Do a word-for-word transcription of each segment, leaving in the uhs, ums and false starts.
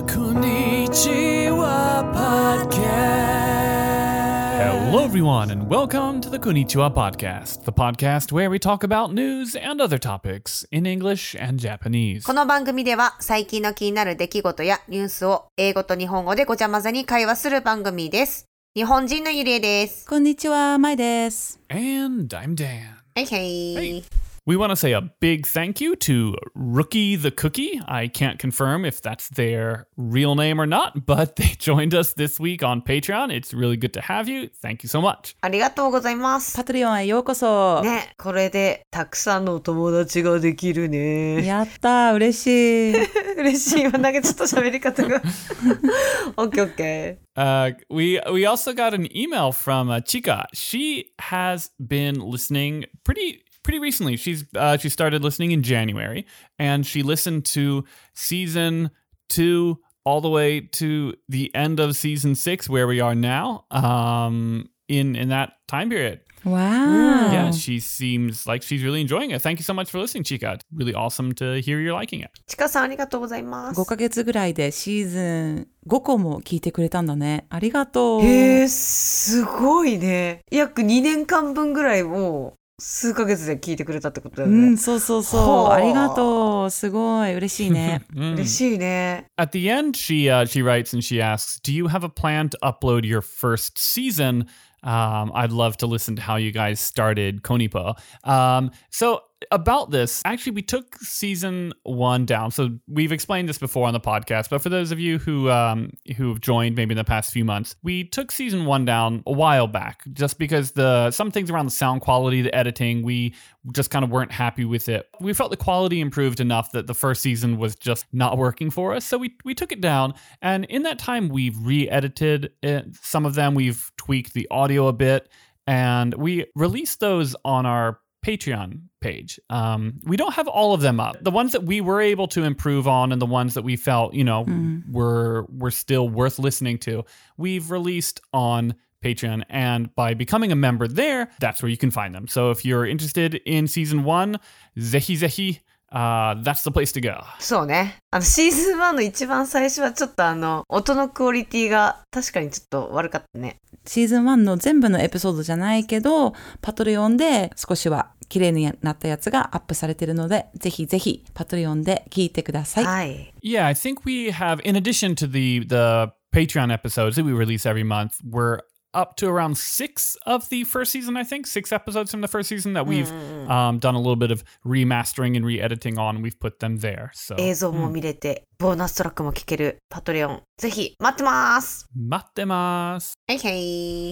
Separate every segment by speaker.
Speaker 1: Konnichiwa Podcast. Hello, everyone, and welcome to the Konnichiwa Podcast, the podcast where we talk about news and other topics in English and Japanese.
Speaker 2: この番組では最近の気になる出来事やニュースを英語と日本語でごちゃ混ぜに会話する番組です。日本人のゆりえです。
Speaker 3: こんにちは、まいです。
Speaker 1: And I'm Dan.
Speaker 2: Hey, hey.
Speaker 1: Hey.We want to say a big thank you to Rookie the Cookie. I can't confirm if that's their real name or not, but they joined us this week on Patreon. It's really good to have you. Thank you so much.
Speaker 2: ありがとうございます。
Speaker 3: パトリオンへようこそ。
Speaker 2: ね、これでたくさんのお友達ができるね。
Speaker 3: やったー、嬉しい。
Speaker 2: 嬉しいわ。なんかちょっと喋り方が。オッケーオッケー。
Speaker 1: Uh, we we also got an email from uh, Chika. She has been listening pretty...Pretty recently, she's uh, she started listening in January, and she listened to season two all the way to the end of season six, where we are now. Um, in in that time period.
Speaker 3: Wow.
Speaker 1: Yeah, she seems like she's really enjoying it. Thank you so much for listening, Chika. It's really awesome to hear you're liking it.
Speaker 2: ちかさんありがとうございます。
Speaker 3: ごかげつぐらいでシーズンごこも聞いてくれたんだね。ありがとう。
Speaker 2: へー、すごいね。約にねんかんぶんぐらいを数ヶ月で聞いてくれたってことだよね。
Speaker 3: うん、そうそうそう。ありがとう。すごい嬉しいね。
Speaker 2: 嬉しいね。
Speaker 1: At the end, she uh, she writes and she asks, "Do you have a plan to upload your first season? Um, I'd love to listen to how you guys started Konipo." Um, so about this, actually, we took season one down. So we've explained this before on the podcast, but for those of you who um, who have joined maybe in the past few months, we took season one down a while back, just because the some things around the sound quality, the editing, we just kind of weren't happy with it. We felt the quality improved enough that the first season was just not working for us, so we we took it down. And in that time, we've re-edited it. Some of them, we've tweaked the audio a bit, and we released those on our Patreon page. Um, we don't have all of them up. The ones that we were able to improve on and the ones that we felt, you know, mm. were were still worth listening to, we've released on Patreon. And by becoming a member there, that's where you can find them. So if you're interested in season one, zehi zehi.Uh, that's the place to go.
Speaker 2: そうね。あのシーズンワンの一番最初はちょっとあの音のクオリティが確かにちょっと悪かったね。
Speaker 3: シーズンワンの全部のエピソードじゃないけど、パトリオンで少しは綺麗になったやつがアップされているので、ぜひぜひパトリオンで聞いてください。
Speaker 2: はい。
Speaker 1: Yeah, I think we have, in addition to the the Patreon episodes that we release every month, we're up to around six of the first season, I think. Six episodes from the first season that we've um, done a little bit of remastering and re-editing on. We've put them there. So.
Speaker 2: 映像も見れて、うん、ボーナストラックも聞けるパトレオン。ぜひ待ってます。
Speaker 1: 待ってます。
Speaker 2: はいはい。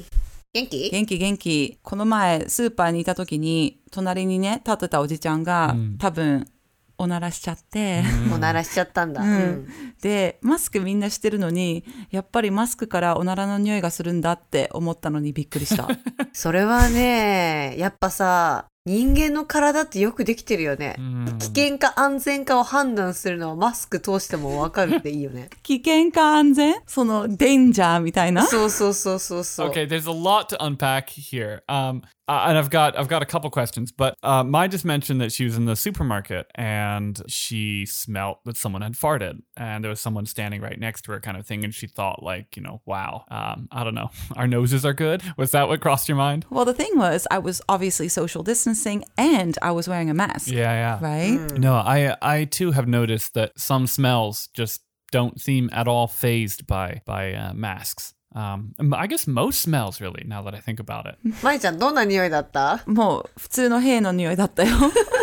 Speaker 2: 元気？
Speaker 3: 元気元気。この前スーパーにいた時に隣にね立ってたおじちゃんが、うん、多分おならしちゃって、
Speaker 2: うん、おならしちゃったんだ、
Speaker 3: うんうん、でマスクみんなしてるのにやっぱりマスクからおならの匂いがするんだって思ったのにびっくりした
Speaker 2: それはねやっぱさ人間の体ってよくできてるよね、うん、危険か安全かを判断するのはマスク通しても分かるっていいよね
Speaker 3: 危険か安全そのデンジャーみたいな
Speaker 2: そうそうそうそうそう
Speaker 1: Okay, there's a lot to unpack here. Um, uh, and I've got I've got a couple questions, but uh, Mai just mentioned that she was in the supermarket and she smelt that someone had farted and there was someone standing right next to her kind of thing and she thought like, you know, wow, um, I don't know, our noses are good? Was that what crossed your mind?
Speaker 3: Well, the thing was, I was obviously social distancing and I was wearing a mask.
Speaker 1: Yeah, yeah.
Speaker 3: Right?
Speaker 1: Mm. No, I I too have noticed that some smells just don't seem at all fazed by, by uh, masks.Um, I guess most smells really, now that I think about it.
Speaker 2: まいちゃんどんな匂いだった？
Speaker 3: もう普通の屁の匂いだったよ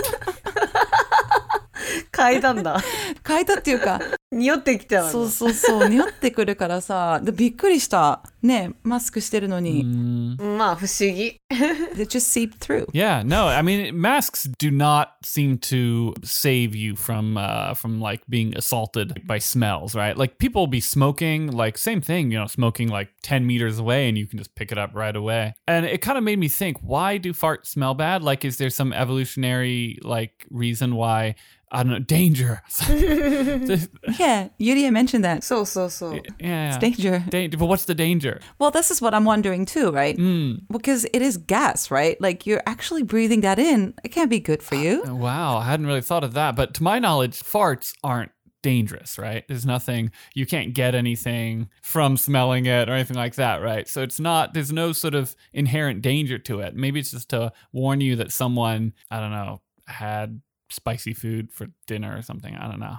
Speaker 2: 嗅いだんだ
Speaker 3: 嗅いだっていうか
Speaker 2: 匂ってきたわ
Speaker 3: そうそうそう匂ってくるからさでびっくりしたねマスクしてるのに、
Speaker 2: mm. まあ不思議
Speaker 3: They just seep through.
Speaker 1: Yeah, no, I mean masks do not seem to save you from uh, from like being assaulted by smells, right? Like people will be smoking, like same thing, you know, smoking like ten meters away and you can just pick it up right away. And it kind of made me think, why do farts smell bad? Like, is there some evolutionary like reason why? I don't know, danger.
Speaker 3: Yeah, Yuria mentioned that.
Speaker 2: So, so, so.
Speaker 1: Yeah.
Speaker 3: It's danger.
Speaker 1: Danger. But what's the danger?
Speaker 3: Well, this is what I'm wondering too, right?
Speaker 1: Mm.
Speaker 3: Because it is gas, right? Like you're actually breathing that in. It can't be good for you.
Speaker 1: Uh, wow, I hadn't really thought of that. But to my knowledge, farts aren't dangerous, right? There's nothing, you can't get anything from smelling it or anything like that, right? So it's not, there's no sort of inherent danger to it. Maybe it's just to warn you that someone, I don't know, had spicy food for dinner or something. I don't know.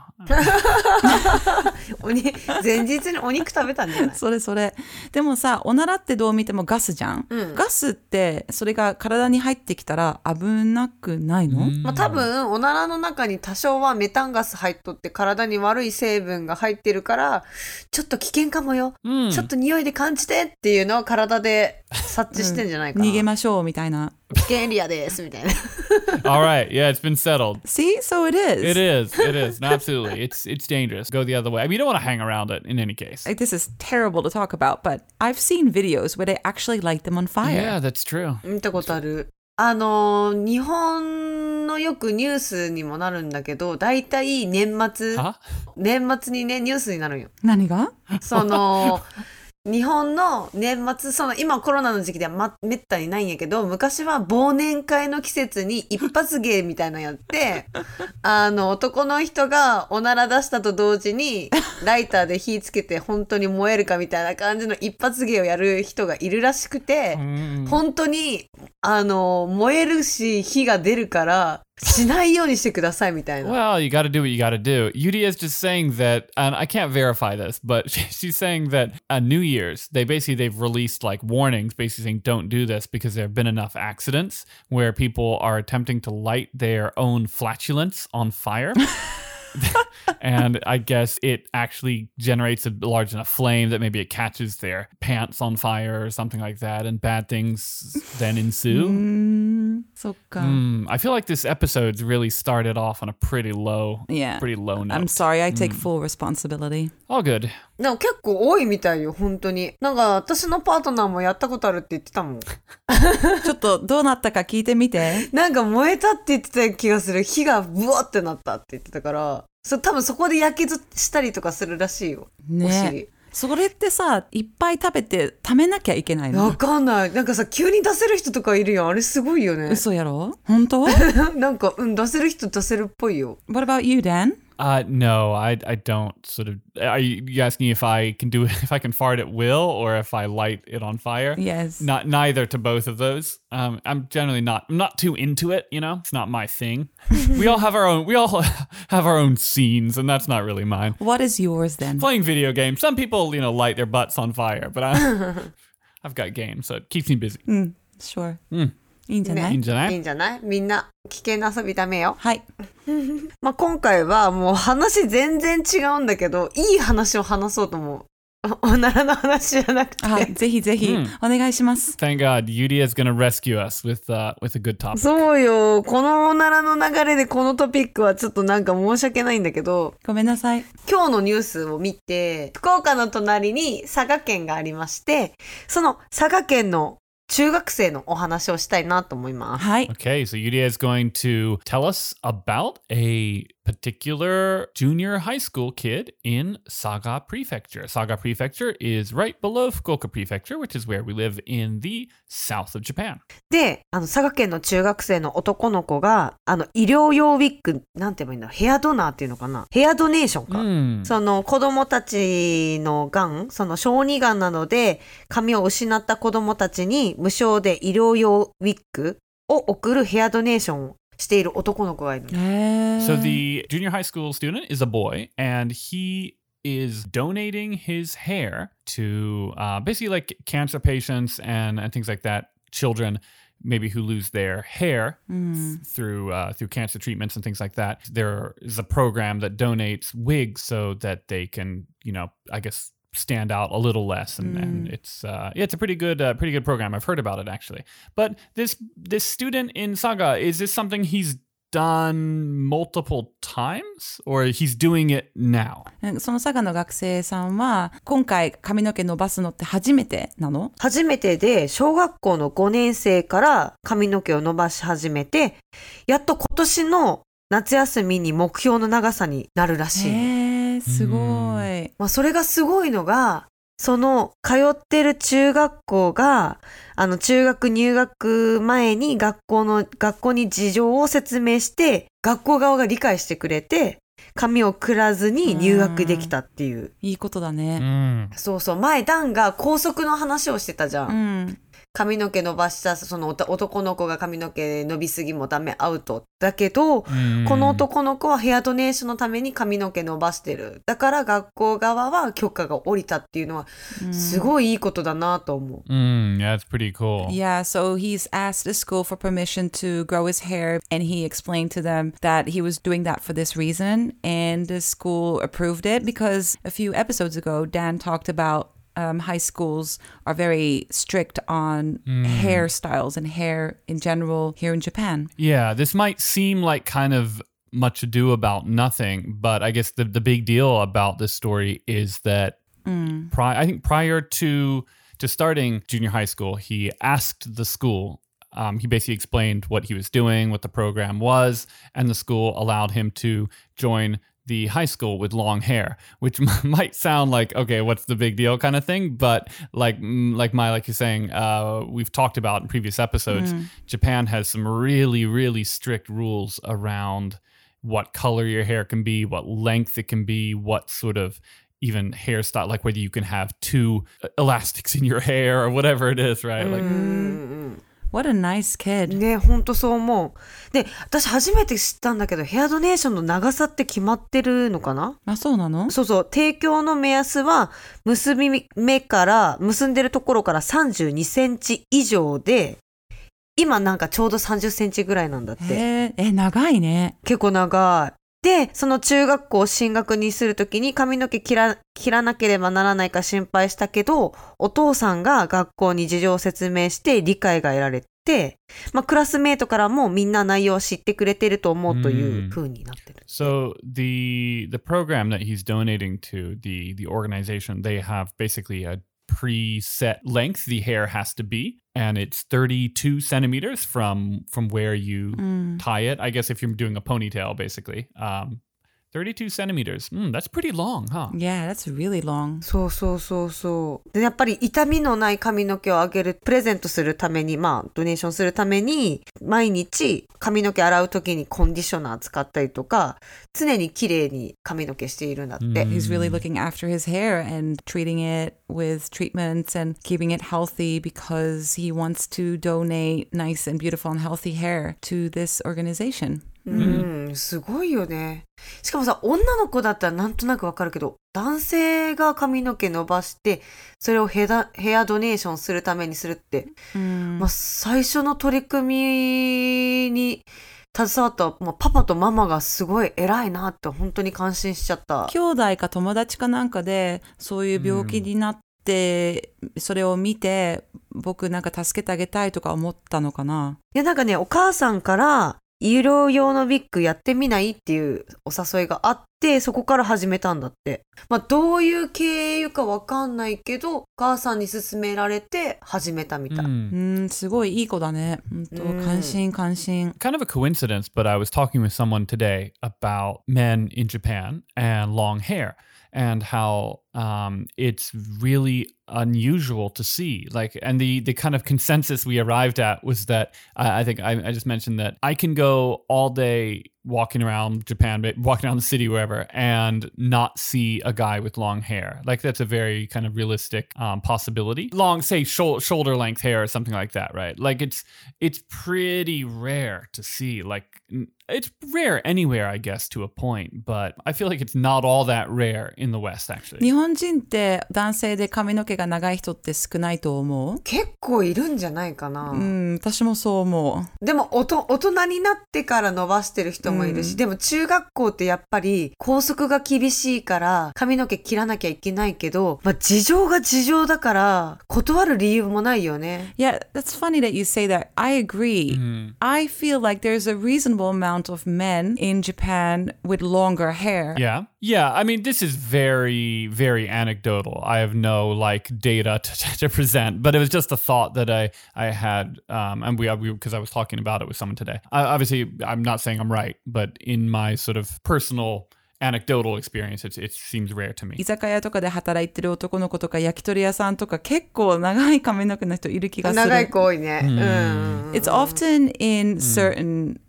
Speaker 2: おに前日にお肉食べたんじゃない？
Speaker 3: それそれ。でもさ、おならってどう見てもガスじゃん、うん、ガスってそれが体に入ってきたら危なくないの？
Speaker 2: まあ、多分おならの中に多少はメタンガス入っとって体に悪い成分が入ってるからちょっと危険かもよ、うん、ちょっと匂いで感じてっていうのを体で察知してんじゃないかな、
Speaker 3: うん、逃げましょうみたいな。
Speaker 2: 危険エリアですみたいな。
Speaker 1: All right, yeah, it's been settled.
Speaker 3: See, so it is.
Speaker 1: It is. It is. Absolutely. It's it's dangerous. Go the other way. I mean, you don't want to hang around it in any case.
Speaker 3: Like, this is terrible to talk about, but I've seen videos where they actually light them on fire.
Speaker 1: Yeah, that's true.
Speaker 2: 見たことある。あの日本のよくニュースにもなるんだけど、だいたい年末、年末にねニュースになるんよ。
Speaker 3: 何が？
Speaker 2: その。日本の年末、その今コロナの時期では、ま、めったにないんやけど、昔は忘年会の季節に一発芸みたいなのやってあの男の人がおなら出したと同時にライターで火つけて本当に燃えるかみたいな感じの一発芸をやる人がいるらしくて、本当にあの燃えるし火が出るからしないようにしてくださいみたいな。
Speaker 1: Well, you gotta do what you gotta do. Yuri is just saying that, and I can't verify this, but she's saying that uh, New Year's, they basically, they've released like warnings basically saying don't do this because there have been enough accidents where people are attempting to light their own flatulence on fire. And I guess it actually generates a large enough flame that maybe it catches their pants on fire or something like that, and bad things then ensue.
Speaker 3: Mm, そっか。
Speaker 1: Mm, I feel like this episode's really started off on a pretty low,
Speaker 3: yeah.
Speaker 1: pretty low note.
Speaker 3: I'm sorry, I take mm. full responsibility.
Speaker 1: All good.
Speaker 2: でも結構多いみたいよ、本当に。なんか私のパートナーもやったことあるって言ってたもん。
Speaker 3: ちょっとどうなったか聞いてみて。
Speaker 2: なんか燃えたって言ってた気がする。火がブワってなったって言ってたから、そ多分そこでやけどしたりとかするらしいよ。ね、お尻。
Speaker 3: それってさ、いっぱい食べて溜めなきゃいけないの？
Speaker 2: わかんない。なんかさ、急に出せる人とかいるよ。あれすごいよね。
Speaker 3: 嘘やろ？本当？
Speaker 2: なんか、うん、出せる人出せるっぽいよ。
Speaker 3: What about you, Dan?
Speaker 1: Uh, no, I I don't sort of. Are you asking if I can do it, if I can fart at will, or if I light it on fire?
Speaker 3: Yes.
Speaker 1: Not neither to both of those. Um, I'm generally not. I'm not too into it. You know, it's not my thing. We all have our own. We all have our own scenes, and that's not really mine.
Speaker 3: What is yours then?
Speaker 1: Playing video games. Some people, you know, light their butts on fire, but I, I've got games, so it keeps me busy.
Speaker 3: Mm, sure.
Speaker 1: Mm.
Speaker 3: いいんじゃない？
Speaker 1: いいんじゃない？
Speaker 2: いいんじゃない？みんな危険な遊びダメよ。
Speaker 3: はい。
Speaker 2: まあ今回はもう話全然違うんだけど、いい話を話そうと思う。おならの話じゃなくて。
Speaker 3: あ、ぜひぜひ、うん、お願いします。
Speaker 1: Thank God, Yuri is gonna rescue us with, uh, with a good topic.
Speaker 2: そうよ。このおならの流れでこのトピックはちょっとなんか申し訳ないんだけど。
Speaker 3: ごめんなさい。
Speaker 2: 今日のニュースを見て、福岡の隣に佐賀県がありまして、その佐賀県の中学生のお話をしたいなと思います。
Speaker 3: はい。
Speaker 1: Okay, so Yuria is going to tell us about a particular junior high school kid in Saga Prefecture. Saga Prefecture is right below Fukuoka Prefecture, which is where we live in the south of Japan.
Speaker 2: で、あの佐賀県の中学生の男の子が、あの医療用ウィッグ、なんて言えばいいんだろう、ヘアドナーっていうのかな、ヘアドネーションか。Mm. その子供たちのがん、その小児がんなので髪を失った子供たちに無償で医療用ウィッグを送るヘアドネーションをしている男の子がいる。
Speaker 1: So the junior high school student is a boy, and he is donating his hair to uh, basically like cancer patients and, and things like that, children maybe who lose their hair mm. through uh, through cancer treatments and things like that. There is a program that donates wigs so that they can, you know, I guess stand out a little less, and, mm. and it's uh, yeah, it's a pretty good uh, pretty good program. I've heard about it actually. But this this student in Saga, is this something he's done multiple times, or he's doing it now?
Speaker 3: その佐賀の学生さんは今回髪の毛伸ばすのって初めてなの？
Speaker 2: 初めてで、小学校のごねん生から髪の毛を伸ばし始めて、やっと今年の夏休みに目標の長さになるらしい。
Speaker 3: へー、すごい。
Speaker 2: まあ、それがすごいのが、その通ってる中学校が、あの中学入学前に学校の学校に事情を説明して、学校側が理解してくれて、 髪をくらずに入学できたっていう。
Speaker 3: いいことだね。
Speaker 1: Mm.
Speaker 2: そうそう。前、ダンが校則の話をしてたじゃん。
Speaker 3: うん。
Speaker 2: 髪の毛伸ばしたその男の子が髪の毛伸びすぎもダメアウトだけど、
Speaker 1: Mm.
Speaker 2: この男の子はヘアドネーションのために髪の毛伸ばしてる。だから学校側は許可が下りたっていうのはすごいいいことだなと思う。
Speaker 1: Mm, yeah, it's pretty cool.
Speaker 3: Yeah, so he's asked the school for permission to grow his hair, and he explained to them that he was doing that for this reason, and the school approved it because a few episodes ago, Dan talked about um, high schools are very strict on hairstyles and hair in general here in Japan.
Speaker 1: Yeah, this might seem like kind of much ado about nothing, but I guess the, the big deal about this story is that pri- I think prior to to starting junior high school, he asked the school, um, he basically explained what he was doing, what the program was, and the school allowed him to join the high school with long hair, which might sound like, okay, what's the big deal kind of thing. But like, like Mai, like you're saying, uh, we've talked about in previous episodes, mm. Japan has some really, really strict rules around what color your hair can be, what length it can be, what sort of even hairstyle, like whether you can have two elastics in your hair or whatever it is, right? Like,
Speaker 3: What a nice kid.
Speaker 2: ね、ほんとそう思う。で、私初めて知ったんだけど、ヘアドネーションの長さって決まってるのかな？
Speaker 3: あ、そうなの？
Speaker 2: そうそう。提供の目安は、結び目から、結んでるところからさんじゅうにセンチ以上で、今なんかちょうどさんじゅっセンチぐらいなんだって。
Speaker 3: へー、え、長いね。
Speaker 2: 結構長い。で、その中学校進学にするときに髪の毛切ら、切らなければならないか心配したけど、お父さんが学校に事情を説明して理解が得られて、まあ、クラスメートからもみんな内容を知ってくれてると思うという風になってる。
Speaker 1: So the the program that he's donating to, the the organization, they have basically a preset length the hair has to be, and it's thirty-two centimeters from from where you mm. tie it. I guess if you're doing a ponytail, basically. Um, thirty-two centimeters. Mm, that's pretty long, huh?
Speaker 3: Yeah, that's really long.
Speaker 2: そうそうそうそう。で、やっぱり痛みのない髪の毛をあげる、プレゼントするために、まあ、ドネーションするために、毎日髪の毛洗うときにコンディショナー使ったりとか、常に綺麗に髪の毛しているんだって。
Speaker 3: Mm. He's really looking after his hair and treating it with treatments and keeping it healthy because he wants to donate nice and beautiful and healthy hair to this organization.
Speaker 2: うん、すごいよね。しかもさ、女の子だったらなんとなくわかるけど、男性が髪の毛伸ばして、それをヘア、ヘアドネーションするためにするって、うんまあ、最初の取り組みに携わった、まあ、パパとママがすごい偉いなって本当に感心しちゃった。
Speaker 3: 兄弟か友達かなんかでそういう病気になって、うん、それを見て僕なんか助けてあげたいとか思ったのかな。
Speaker 2: いやなんかね、お母さんから医療用のウィッグやってみないっていうお誘いがあって、そこから始めたんだって。まあどういう経由かわかんないけど、お母さんに勧められて始めたみたい。うん、
Speaker 3: うんすごいいい子だね。本当感心感心。
Speaker 1: Kind of a coincidence, but I was talking with someone today about men in Japan and long hair and how um, it's really unusual to see. Like, and the the kind of consensus we arrived at was that uh, I think I, I just mentioned that I can go all day walking around Japan, walking around the city, wherever, and not see a guy with long hair. Like that's a very kind of realistic um, possibility. Long, say, shol- shoulder length hair or something like that, right? Like it's it's pretty rare to see. Like it's rare anywhere, I guess, to a point, but I feel like it's not all that rare in the West, actually.
Speaker 3: 日本人って男性で髪の毛が長い人って少ないと思う？
Speaker 2: 結構いるんじゃないかな。
Speaker 3: うん、私もそう思
Speaker 2: う。でもおと大人になってから伸ばしてる人もいるし、うん、でも中学校ってやっぱり校則が厳しいから髪の毛切らなきゃいけないけど、まあ、事情が事情だから断る理由もないよね。
Speaker 3: Yeah, that's funny that you say that. I agree. Mm. I feel like there's a reasonable amount of men in Japan with longer hair.
Speaker 1: Yeah. Yeah, I mean, this is very, very anecdotal. I have no like data to, to present, but it was just a thought that I, I had, um, and we, we, because I was talking about it with someone today. I, obviously, I'm not saying I'm right, but in my sort of personal anecdotal experience, it, it seems rare to me.
Speaker 3: 居酒屋とかで働いてる男の子とか焼き鳥屋さんとか結構長い髪の毛の人いる気がする。
Speaker 2: 長い子多いね。
Speaker 3: Mm. It's often in certain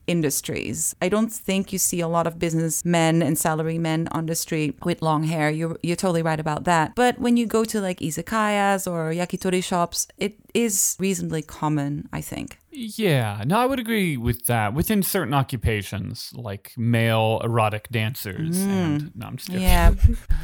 Speaker 3: industries. I don't think you see a lot of businessmen and salarymen on the street with long hair. You're you're totally right about that. But when you go to like izakayas or yakitori shops, it is reasonably common, I think.
Speaker 1: Yeah, no, I would agree with that. Within certain occupations, like male erotic dancers, mm. and no, I'm just joking.
Speaker 3: Yeah.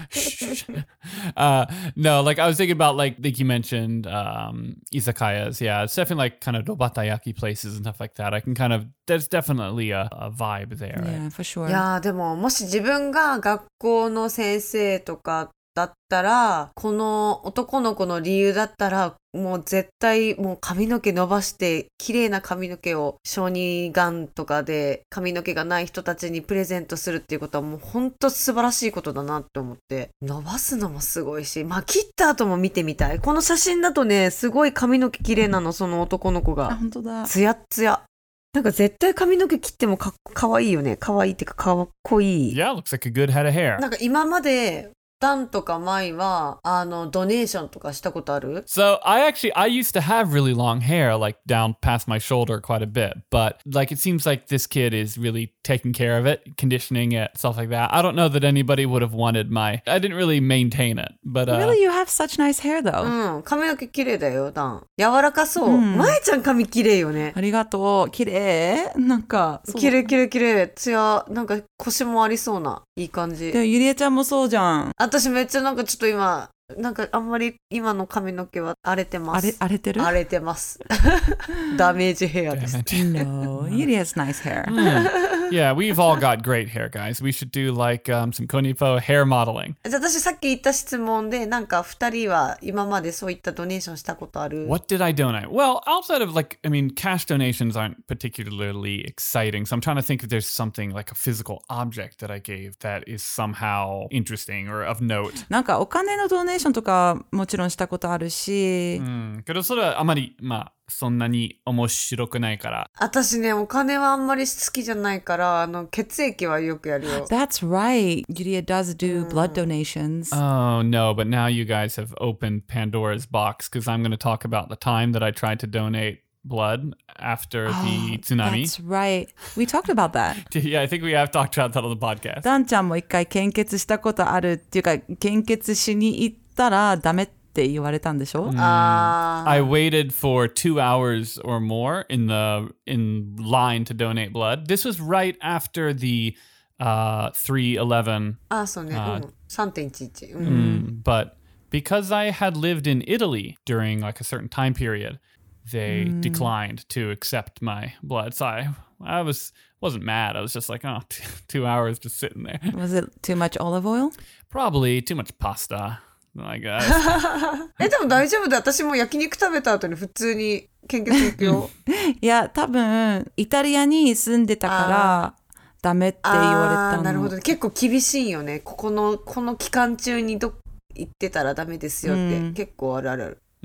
Speaker 1: uh, no, like I was thinking about, like, like you mentioned, um, izakayas. Yeah, it's definitely like kind of dobatayaki places and stuff like that. I can kind of, there's definitely a, a vibe there.
Speaker 3: Yeah,
Speaker 1: right?
Speaker 3: for sure.
Speaker 2: いやーでももし自分が学校の先生とかだったらこの男の子の理由だったらもう絶対もう髪の毛伸ばして綺麗な髪の毛を小児がんとかで髪の毛がない人たちにプレゼントするっていうことはもう本当素晴らしいことだなって思って伸ばすのもすごいしまあ切った後も見てみたいこの写真だとねすごい髪の毛綺麗なのその男の子が
Speaker 3: 本当だ
Speaker 2: ツヤッツヤなんか絶対髪の毛切ってもかかわいいよねかわいいっていうかかっこいい
Speaker 1: Yeah, looks like a good head of hair.
Speaker 2: なんか今までダンとかマイはあのドネーションとかしたことある
Speaker 1: So I actually, I used to have really long hair, like down past my shoulder quite a bit. But like, it seems like this kid is really taking care of it, conditioning it, stuff like that. I don't know that anybody would have wanted my, I didn't really maintain it. But uh,
Speaker 3: Really, you have such nice hair though.
Speaker 2: うん髪の毛綺麗だよダン柔らかそう、マイちゃん髪綺麗よね
Speaker 3: ありがとう。綺麗なんかそう
Speaker 2: 綺麗綺麗綺麗ツヤなんか腰もありそうないい感じ
Speaker 3: でもゆりえちゃんもそうじゃん。
Speaker 2: 私めっちゃなんかちょっと今なんかあんまり今の髪の毛は荒れてま
Speaker 3: 荒れ
Speaker 2: す
Speaker 3: 荒れてる
Speaker 2: 荒れてますダメージヘアです
Speaker 3: No, Yuri has nice hair.
Speaker 1: yeah, we've all got great hair, guys. We should do like um, some Konipo hair modeling.
Speaker 2: じゃあ私さっき言った質問でなんかふたりは今までそういったドネーションしたことある
Speaker 1: What did I donate? Well, outside of like, I mean, cash donations aren't particularly exciting. So I'm trying to think if there's something like a physical object that I gave that is somehow interesting or of note.
Speaker 3: なんかお金のドネーションとかもちろんしたことあるし、
Speaker 1: うん、けどそれはあまり、まあ、そんなに面白くないから。
Speaker 2: 私ねお金はあんまり好きじゃないからあの血液はよくやるよ
Speaker 3: That's right. Yuria does do blood donations.
Speaker 1: Oh, no, but now you guys have opened Pandora's box because I'm going to talk about the time that I tried to donate blood after the tsunami.
Speaker 3: That's right. We talked about that.
Speaker 1: Yeah, I think we have talked about that on the podcast.
Speaker 3: ダンちゃんも一回献血したことあるっていうか献血しに行ったらダメって言われたんでしょ、
Speaker 2: あ
Speaker 1: I waited for two hours or more in the in line to donate blood. This was right after the uh, three eleven.
Speaker 2: あそうね、うん、さんてんいちいち、うん
Speaker 1: Mm, but because I had lived in Italy during like a certain time period, they declined to accept my blood. So I, I was wasn't mad. I was just like, oh, t- two hours just sitting there.
Speaker 3: Was it too much olive oil?
Speaker 1: Probably too much pasta. I guess.
Speaker 2: えでも大丈夫だ私も焼肉食べた後に普通に献血行くよ
Speaker 3: いや多分イタリアに住んでたからダメって言われたの。
Speaker 2: あーなるほど結構厳しいよねここのこの期間中にど行ってたらダメですよって、うん、結構あるあるある、うん、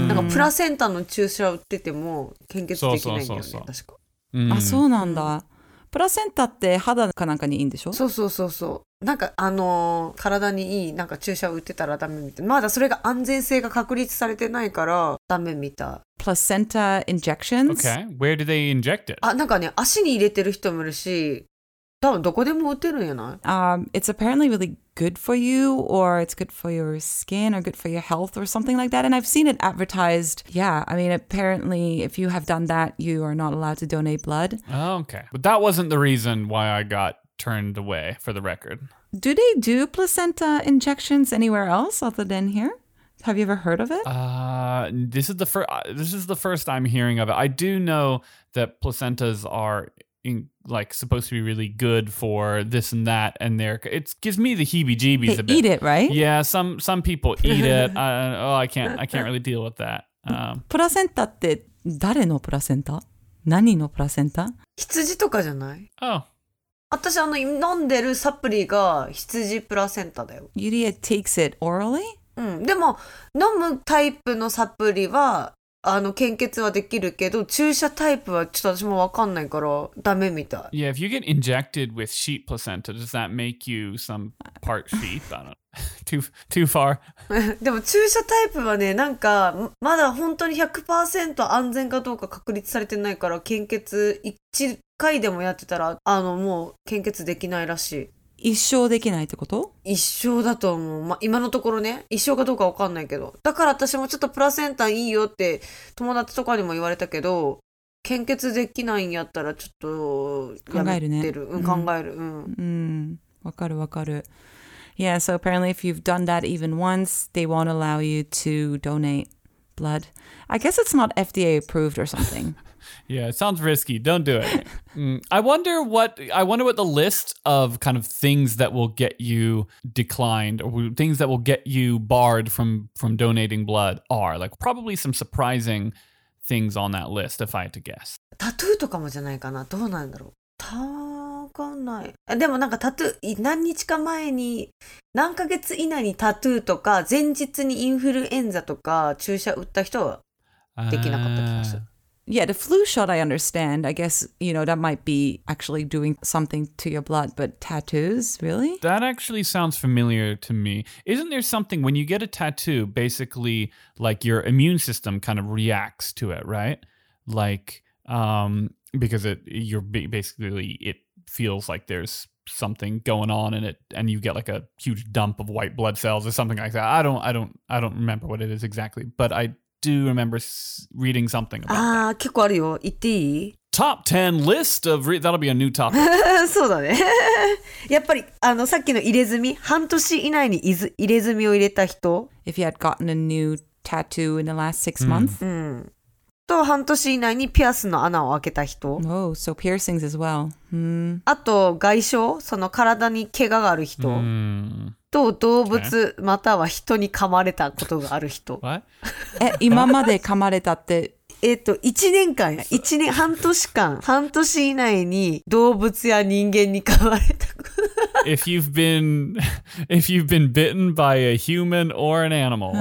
Speaker 2: なんかプラセンタの注射売ってても献血できないんだよね確か、
Speaker 3: うん、あそうなんだプラセンタって肌かなんかにいいんでしょ
Speaker 2: そうそうそうそうなんかあのー、体にいいなんか注射を打ってたらダメみたいまだそれが安全性が確立されてないからダメみたい
Speaker 3: Placenta injections?
Speaker 1: Okay, where do they inject it?
Speaker 2: あなんかね足に入れてる人もいるし多分どこでも打てるんやない
Speaker 3: Um, it's apparently really good for you or it's good for your skin or good for your health or something like that. And I've seen it advertised. Yeah, I mean, apparently if you have done that, you are not allowed to donate blood.
Speaker 1: Oh, okay. But that wasn't the reason why I got turned away, for the record.
Speaker 3: Do they do placenta injections anywhere else other than here? Have you ever heard of it?
Speaker 1: Uh, this is the first. This is the first I'm hearing of it. I do know that placentas are in, like supposed to be really good for this and that, and they're it gives me the heebie-jeebies
Speaker 3: they
Speaker 1: a bit.
Speaker 3: Eat it, right?
Speaker 1: Yeah, some some people eat it. uh, oh, I can't I can't really deal with that. Um,
Speaker 3: プラセンタって誰のプラセンタ？何のプラセンタ？
Speaker 2: 羊とかじゃない
Speaker 1: oh.
Speaker 2: 私あの飲んでるサプリが羊プラセンタだよ。
Speaker 3: Yuria takes it orally?
Speaker 2: うん。でも飲むタイプのサプリはあの献血はできるけど注射タイプはちょっと私もわかんないからダメみたい。
Speaker 1: Yeah, if you get injected with sheep placenta, does that make you some part sheep? I don't know. too too far.
Speaker 2: でも注射タイプはねなんかまだ本当に ひゃくパーセント 安全かどうか確立されてないから献血いち回でもやってたら、あの、もう献血できないらし
Speaker 3: い。一生できないってこと？
Speaker 2: 一生だと思う。まあ、今のところね、一生かどうかわかんないけど。だから私もちょっとプラセンタいいよって友達とかにも言われたけど、献血できないんやったらちょっとやめてる。
Speaker 3: 考えるね。
Speaker 2: うん、考える。うん。
Speaker 3: うん。わかるわかる。Yeah, so apparently if you've done that even once, they won't allow you to donate blood. I guess it's not F D A approved or something.
Speaker 1: Yeah, it sounds risky. Don't do it. mm. I wonder what I wonder what the list of kind of things that will get you declined or things that will get you barred from from donating blood are. Like probably some surprising things on that list if I had to guess.
Speaker 2: タトゥーとかもじゃないかな。どうなんだろう。たわかんない。でもなんかタトゥー、何日か前に、何ヶ月以内にタトゥーとか、前日にインフルエンザとか注射打った人はできなかった気がする。
Speaker 3: Yeah, the flu shot I understand. I guess, you know, that might be actually doing something to your blood, but tattoos, really?
Speaker 1: That actually sounds familiar to me. Isn't there something when you get a tattoo, basically like your immune system kind of reacts to it, right? Like, um, because it you're basically it feels like there's something going on in it and you get like a huge dump of white blood cells or something like that. I don't I don't I don't remember what it is exactly, but I do remember reading something about that.
Speaker 2: ああ、結構あるよ。言っていい？
Speaker 1: Top ten list of re- that'll be a new topic.
Speaker 2: そうだね。やっぱりあのさっきの入れ墨、半年以内に入れ墨を入れた人、
Speaker 3: If you had gotten a new tattoo in the last six months.
Speaker 2: うん。と半年以内にピアスの穴を開けた人。
Speaker 3: Oh, so piercings as well. うん。
Speaker 2: あと外傷、その体に怪我がある人。
Speaker 1: Mm.
Speaker 2: と動物または人に噛まれたことがある人。
Speaker 1: What?
Speaker 3: え、今まで噛まれたって。
Speaker 2: えっと、いちねんかんや。いちねん、半年間、半年以内に動物や人間に噛まれたこと。
Speaker 1: If you've been, if you've been bitten by a human or an animal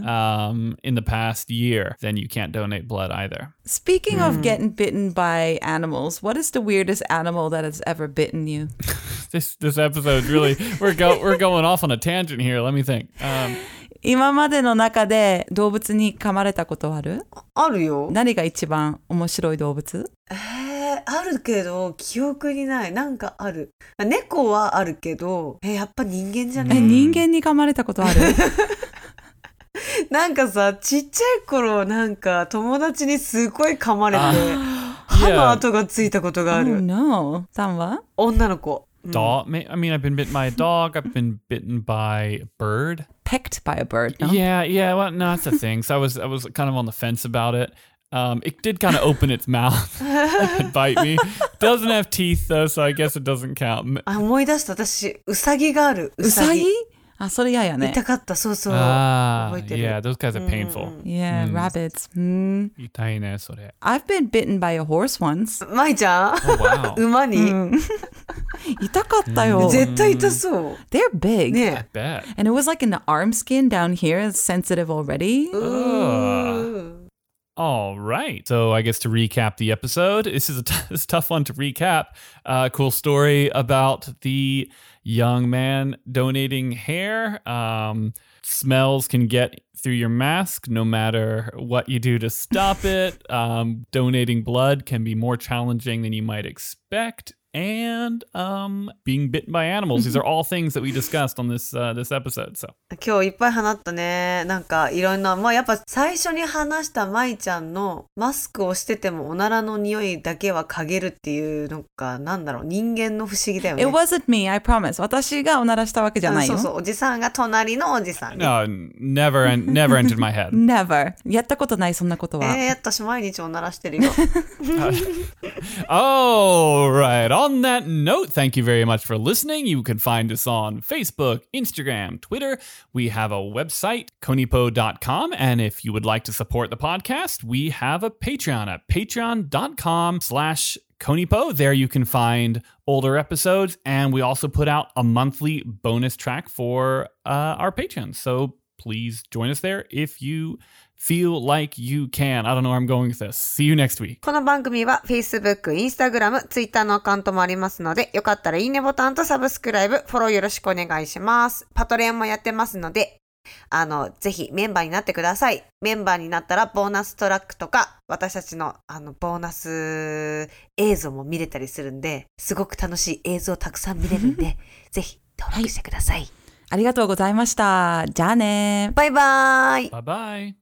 Speaker 1: um, in the past year, then you can't donate blood either.
Speaker 3: Speaking of getting bitten by animals, what is the weirdest animal that has ever bitten you?
Speaker 1: This this episode's really we're go we're going off on a tangent here. Let me think. Um,
Speaker 3: 今までの中で動物に噛まれたことある？
Speaker 2: あるよ。
Speaker 3: 何が一番面白い動物？
Speaker 2: えー、あるけど記憶にない。なんかある。猫はあるけど、えー、やっぱ人間じゃない？
Speaker 3: え、人間に噛まれたことある？
Speaker 2: なんかさ、ちっちゃい頃なんか友達にすごい噛まれて、歯の跡がついたことがある。
Speaker 3: Oh no. さんは？
Speaker 2: 女の子。
Speaker 1: Dog. I mean, I've been bitten by a dog. I've been bitten by a bird.
Speaker 3: Pecked by a bird. No?
Speaker 1: Yeah, yeah. Well, no, that's the thing. So I was, I was kind of on the fence about it. Um, it did kind of open its mouth and bite me. Doesn't have teeth though, so I guess it doesn't count.
Speaker 2: あ、思い出した。私、ウサギがある。
Speaker 3: ウサギ？あ、それ嫌やね。
Speaker 2: 痛かった。そうそう。
Speaker 1: Ah,
Speaker 2: 覚えてる。
Speaker 1: yeah, those guys are painful.
Speaker 3: Yeah, rabbits. うん。
Speaker 1: 痛いね、それ。
Speaker 3: I've been bitten by a horse once.
Speaker 2: マイちゃん、
Speaker 1: Oh, wow.
Speaker 2: 馬に、
Speaker 3: 痛かったよ。
Speaker 2: 絶対痛そう。
Speaker 3: They're big.
Speaker 2: ね
Speaker 1: I bet.
Speaker 3: And it was like in the arm skin down here. It's sensitive already.
Speaker 1: Ugh. All right. So I guess to recap the episode, this is a, t- this is a tough one to recap. Uh, cool story about the young man donating hair. Um, smells can get through your mask no matter what you do to stop it. Um, donating blood can be more challenging than you might expect. And um, being bitten by animals. These are all things that we discussed on this uh, this episode. So
Speaker 2: 今日いっぱい話ったね。なんかいろんな、まあやっぱ最初に話したマイちゃんのマスクをしててもおならの匂いだけは嗅げるっていうのがなんだろう、人間の不思議だよね。
Speaker 3: It wasn't me, I promise. 私がおならしたわけじゃないよ。
Speaker 2: そうそう、おじさんが隣のおじさんね。
Speaker 1: no, never en- never entered my head.
Speaker 3: Never. やったことない、そんなことは。
Speaker 2: えー、私毎日おならしてるよ。
Speaker 1: All right. On that note, thank you very much for listening. You can find us on Facebook, Instagram, Twitter. We have a website, konipo dot com. And if you would like to support the podcast, we have a Patreon at patreon.com slash Konipo. There you can find older episodes. And we also put out a monthly bonus track for uh, our patrons. So please join us there if you feel like you can. I don't know where I'm going with this. See you next week.
Speaker 2: この番組は Facebook、Instagram、Twitter のアカウントもありますので、よかったらいいねボタンとサブスクライブ、フォローよろしくお願いします。パトレオンもやってますので、 あの、ぜひメンバーになってください。メンバーになったらボーナストラックとか、私たちのあの、ボーナス映像も見れたりするんで、すごく楽しい映像たくさん見れるんで、ぜひ登録してください。
Speaker 3: ありがとうございました。じゃあね。
Speaker 2: バイバーイ。
Speaker 1: バイバイ。